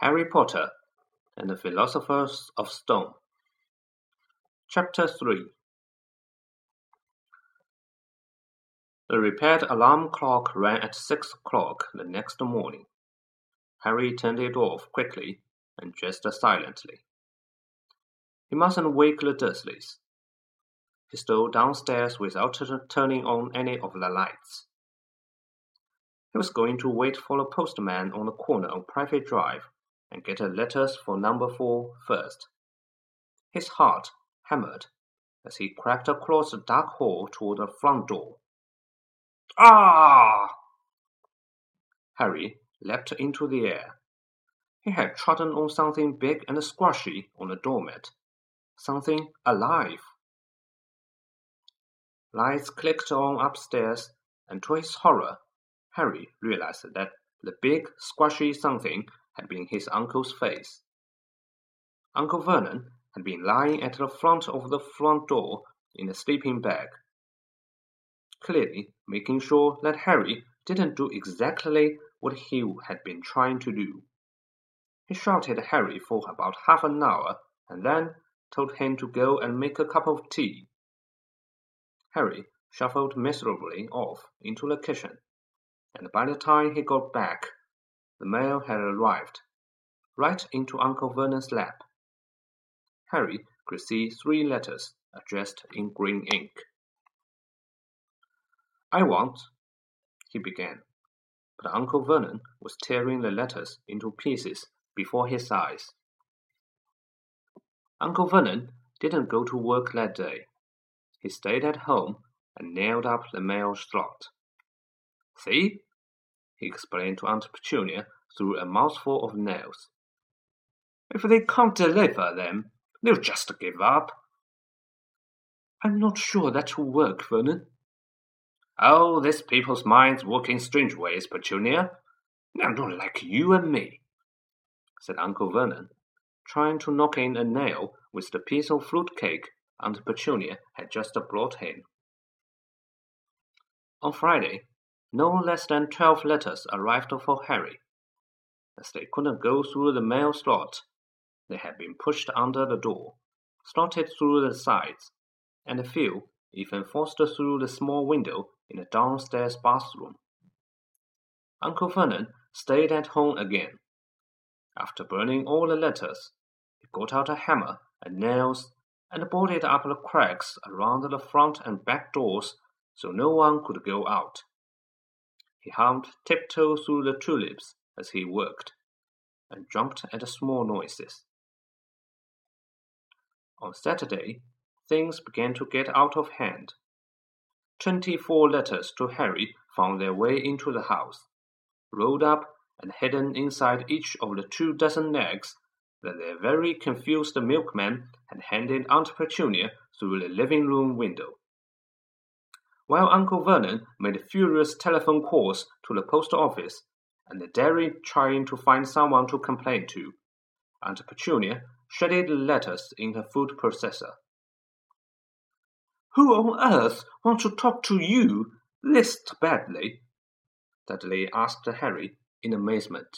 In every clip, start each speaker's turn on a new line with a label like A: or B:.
A: Harry Potter and the Philosopher's Stone. Chapter 3. The repaired alarm clock rang at 6 o'clock the next morning. Harry turned it off quickly and dressed silently. He mustn't wake the Dursleys. He stole downstairs without turning on any of the lights. He was going to wait for the postman on the corner of Private Drive and get the letters for number 4 first. His heart hammered as he crept across the dark hall toward the front door. Ah! Harry leapt into the air. He had trodden on something big and squashy on the doormat. Something alive. Lights clicked on upstairs, and to his horror, Harry realized that the big, squashy something had been his uncle's face. Uncle Vernon had been lying at the front of the front door in a sleeping bag, clearly making sure that Harry didn't do exactly what he had been trying to do. He shouted at Harry for about half an hour and then told him to go and make a cup of tea. Harry shuffled miserably off into the kitchen, and by the time he got back, the mail had arrived, right into Uncle Vernon's lap. Harry could see 3 letters addressed in green ink. "I want," he began, but Uncle Vernon was tearing the letters into pieces before his eyes. Uncle Vernon didn't go to work that day. He stayed at home and nailed up the mail slot. "See?" he explained to Aunt Petunia through a mouthful of nails. "If they can't deliver them, they'll just give up." "I'm not sure that will work, Vernon." "Oh, these people's minds work in strange ways, Petunia. They're not like you and me," said Uncle Vernon, trying to knock in a nail with the piece of fruit cake Aunt Petunia had just brought him. On Friday, no less than 12 letters arrived for Harry. As they couldn't go through the mail slot, they had been pushed under the door, slotted through the sides, and a few even forced through the small window in the downstairs bathroom. Uncle Vernon stayed at home again. After burning all the letters, he got out a hammer and nails and boarded up the cracks around the front and back doors so no one could go out. He hummed tiptoe through the tulips as he worked, and jumped at the small noises. On Saturday, things began to get out of hand. 24 letters to Harry found their way into the house, rolled up and hidden inside each of the 24 eggs that their very confused milkman had handed Aunt Petunia through the living room window. While Uncle Vernon made furious telephone calls to the post office and the dairy trying to find someone to complain to, Aunt Petunia shredded the letters in her food processor. "Who on earth wants to talk to you this badly?" Dudley asked Harry in amazement.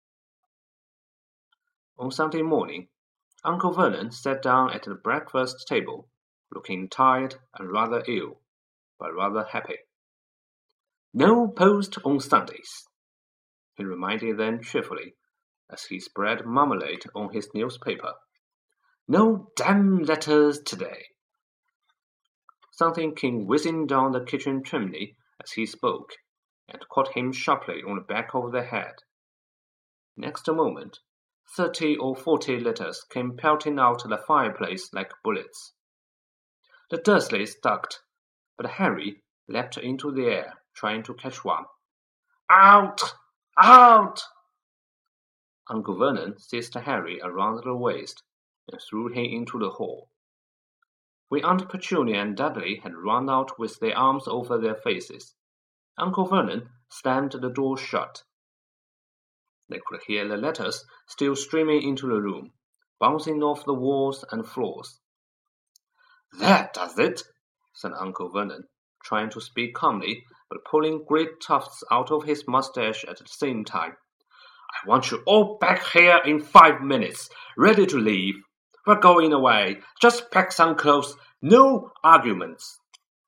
A: On Sunday morning, Uncle Vernon sat down at the breakfast table, looking tired and rather ill, but rather happy. "No post on Sundays," he reminded them cheerfully, as he spread marmalade on his newspaper. "No damn letters today." Something came whizzing down the kitchen chimney as he spoke, and caught him sharply on the back of the head. Next moment, 30 or 40 letters came pelting out the fireplace like bullets. The Dursleys ducked, but Harry leapt into the air, trying to catch one. "Out! Out!" Uncle Vernon seized Harry around the waist and threw him into the hall. When Aunt Petunia and Dudley had run out with their arms over their faces, Uncle Vernon slammed the door shut. They could hear the letters still streaming into the room, bouncing off the walls and floors. "That does it," said Uncle Vernon, trying to speak calmly, but pulling great tufts out of his mustache at the same time. I want you all back here in 5 minutes, ready to leave. We're going away. Just pack some clothes. No arguments.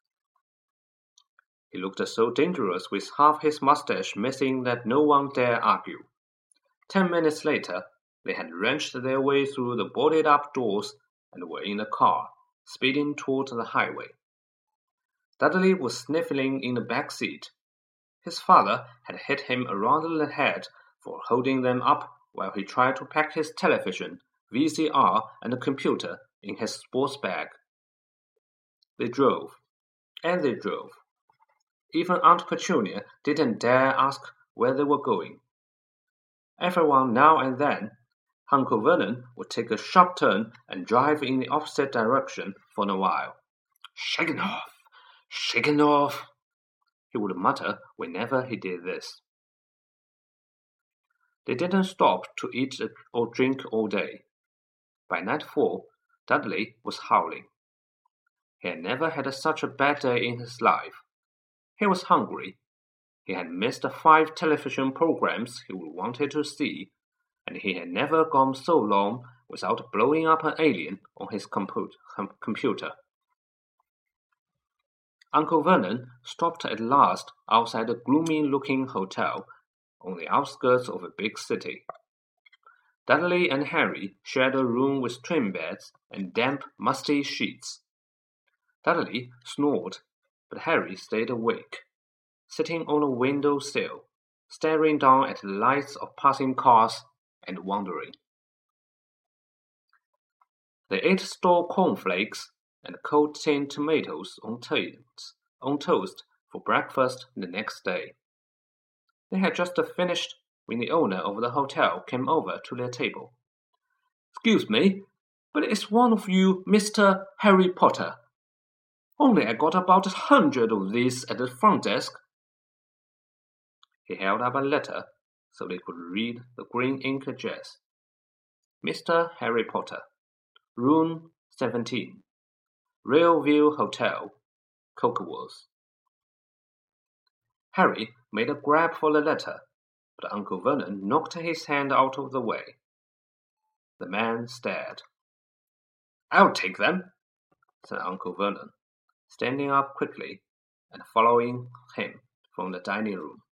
A: He looked so dangerous with half his mustache missing that no one dare argue. 10 minutes later, they had wrenched their way through the boarded-up doors and were in a car, speeding toward the highway. Dudley was sniffling in the back seat. His father had hit him around the head for holding them up while he tried to pack his television, VCR, and computer in his sports bag. They drove, and they drove. Even Aunt Petunia didn't dare ask where they were going. Everyone now and then, Uncle Vernon would take a sharp turn and drive in the opposite direction for a while. "Shaken off," he would mutter whenever he did this. They didn't stop to eat or drink all day. By nightfall, Dudley was howling. He had never had such a bad day in his life. He was hungry. He had missed 5 television programs he wanted to see, and he had never gone so long without blowing up an alien on his computer. Uncle Vernon stopped at last outside a gloomy-looking hotel on the outskirts of a big city. Dudley and Harry shared a room with twin beds and damp, musty sheets. Dudley snored, but Harry stayed awake, sitting on a window sill, staring down at the lights of passing cars and wondering. They ate store cornflakes and cold tinned tomatoes on toast for breakfast the next day. They had just finished when the owner of the hotel came over to their table. "Excuse me, but is one of you Mr. Harry Potter? Only I got about 100 of these at the front desk." He held up a letter so they could read the green ink address. Mr. Harry Potter, Room 17, Railview Hotel, Cokeworth. Harry made a grab for the letter, but Uncle Vernon knocked his hand out of the way. The man stared. "I'll take them," said Uncle Vernon, standing up quickly and following him from the dining room.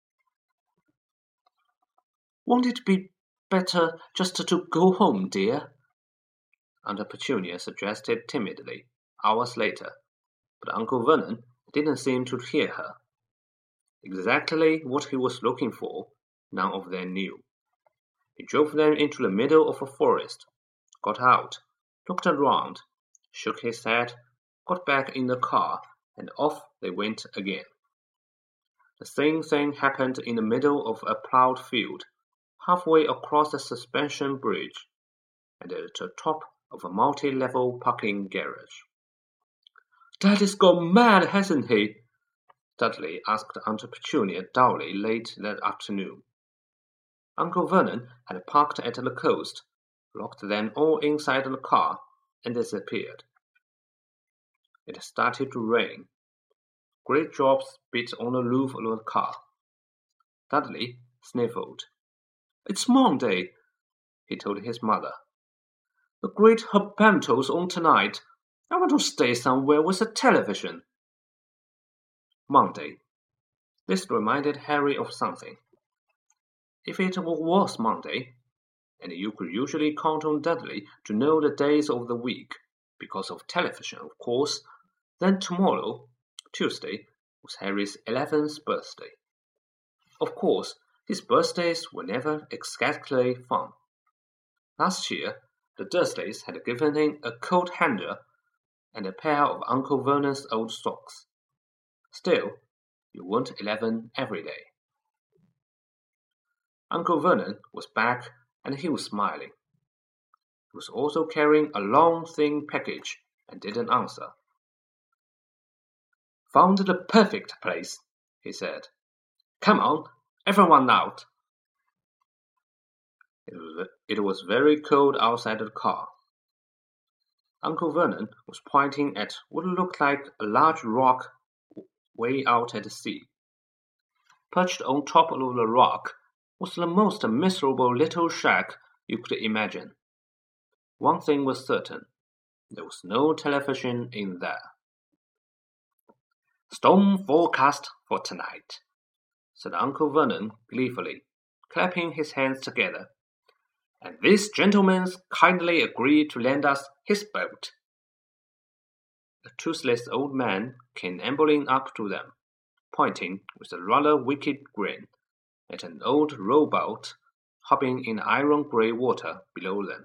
A: "Won't it be better just to go home, dear?" Aunt Petunia suggested timidly, hours later, but Uncle Vernon didn't seem to hear her. Exactly what he was looking for, none of them knew. He drove them into the middle of a forest, got out, looked around, shook his head, got back in the car, and off they went again. The same thing happened in the middle of a plowed field, halfway across the suspension bridge, and at the top of a multi-level parking garage. "Daddy's gone mad, hasn't he?" Dudley asked Aunt Petunia dully late that afternoon. Uncle Vernon had parked at the coast, locked them all inside the car, and disappeared. It started to rain. Great drops beat on the roof of the car. Dudley sniffled. "It's Monday," he told his mother. "The great Herbanto's on tonight. I want to stay somewhere with a television." Monday. This reminded Harry of something. If it was Monday, and you could usually count on Dudley to know the days of the week, because of television, of course, then tomorrow, Tuesday, was Harry's 11th birthday. Of course, his birthdays were never exactly fun. Last year, the Dursleys had given him a coat hanger and a pair of Uncle Vernon's old socks. Still, you weren't 11 every day. Uncle Vernon was back and he was smiling. He was also carrying a long, thin package and didn't answer. "Found the perfect place," he said. "Come on, everyone out." It was very cold outside the car. Uncle Vernon was pointing at what looked like a large rock way out at sea. Perched on top of the rock was the most miserable little shack you could imagine. One thing was certain, there was no television in there. "Storm forecast for tonight," said Uncle Vernon gleefully, clapping his hands together. "And this gentleman's kindly agreed to lend us his boat." A toothless old man came ambling up to them, pointing with a rather wicked grin at an old rowboat hopping in iron-grey water below them.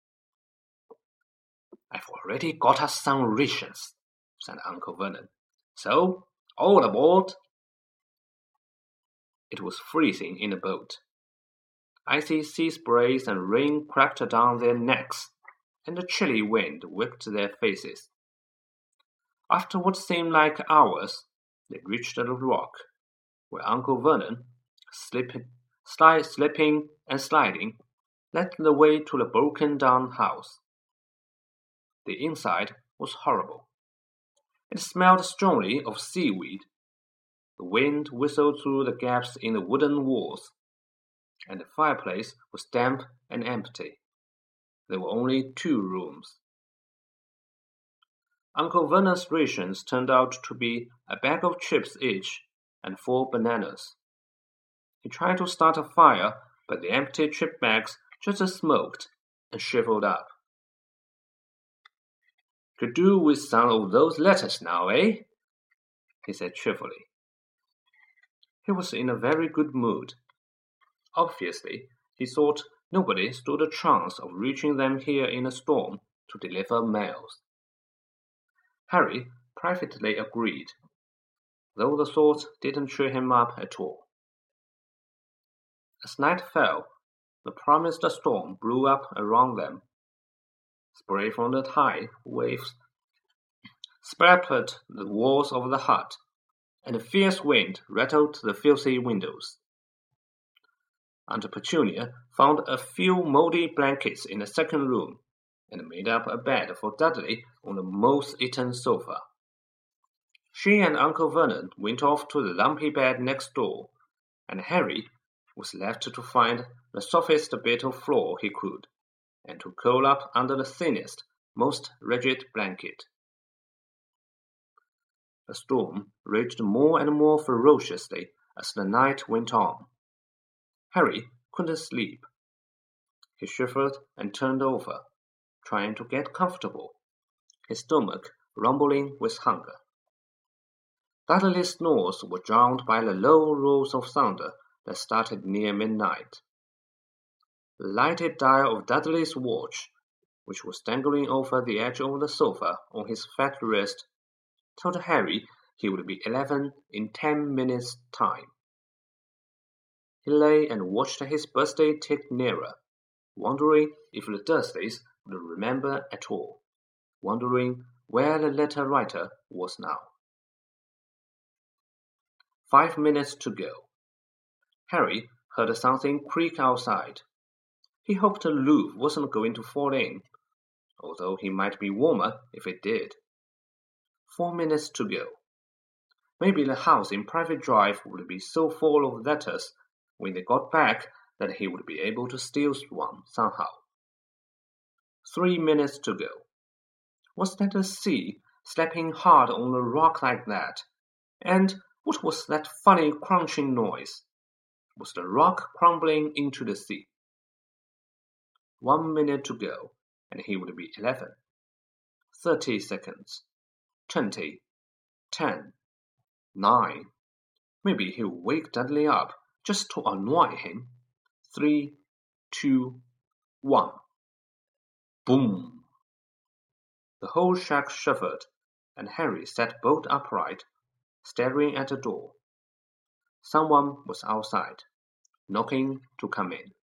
A: "I've already got us some rations," said Uncle Vernon. "So, all aboard." It was freezing in the boat. Icy sea sprays and rain crept down their necks, and the chilly wind whipped their faces. After what seemed like hours, they reached the rock, where Uncle Vernon, slipping and sliding, led the way to the broken-down house. The inside was horrible. It smelled strongly of seaweed. The wind whistled through the gaps in the wooden walls, and the fireplace was damp and empty. There were only 2 rooms. Uncle Vernon's rations turned out to be a bag of chips each and 4 bananas. He tried to start a fire, but the empty chip bags just smoked and shriveled up. "Could do with some of those letters now, eh?" he said cheerfully. He was in a very good mood. Obviously, he thought nobody stood a chance of reaching them here in a storm to deliver mails. Harry privately agreed, though the thought didn't cheer him up at all. As night fell, the promised storm blew up around them. Spray from the tide waves splattered the walls of the hut, and a fierce wind rattled the filthy windows. Aunt Petunia found a few mouldy blankets in the second room, and made up a bed for Dudley on the moth-eaten sofa. She and Uncle Vernon went off to the lumpy bed next door, and Harry was left to find the softest bit of floor he could, and to curl up under the thinnest, most rigid blanket. The storm raged more and more ferociously as the night went on. Harry couldn't sleep. He shivered and turned over, trying to get comfortable, his stomach rumbling with hunger. Dudley's snores were drowned by the low rolls of thunder that started near midnight. The lighted dial of Dudley's watch, which was dangling over the edge of the sofa on his fat wrist, told Harry he would be 11 in 10 minutes' time. He lay and watched his birthday tick nearer, wondering if the Dursleys would remember at all, wondering where the letter writer was now. 5 minutes to go. Harry heard something creak outside. He hoped the roof wasn't going to fall in, although he might be warmer if it did. 4 minutes to go. Maybe the house in Private Drive would be so full of letters when they got back that he would be able to steal one somehow. 3 minutes to go. Was that the sea slapping hard on the rock like that? And what was that funny crunching noise? Was the rock crumbling into the sea? 1 minute to go, and he would be 11. 30 seconds. 20. 10. 9. Maybe he'll wake Dudley up just to annoy him. 3, 2, 1. Boom! The whole shack shivered, and Harry sat bolt upright, staring at the door. Someone was outside, knocking to come in.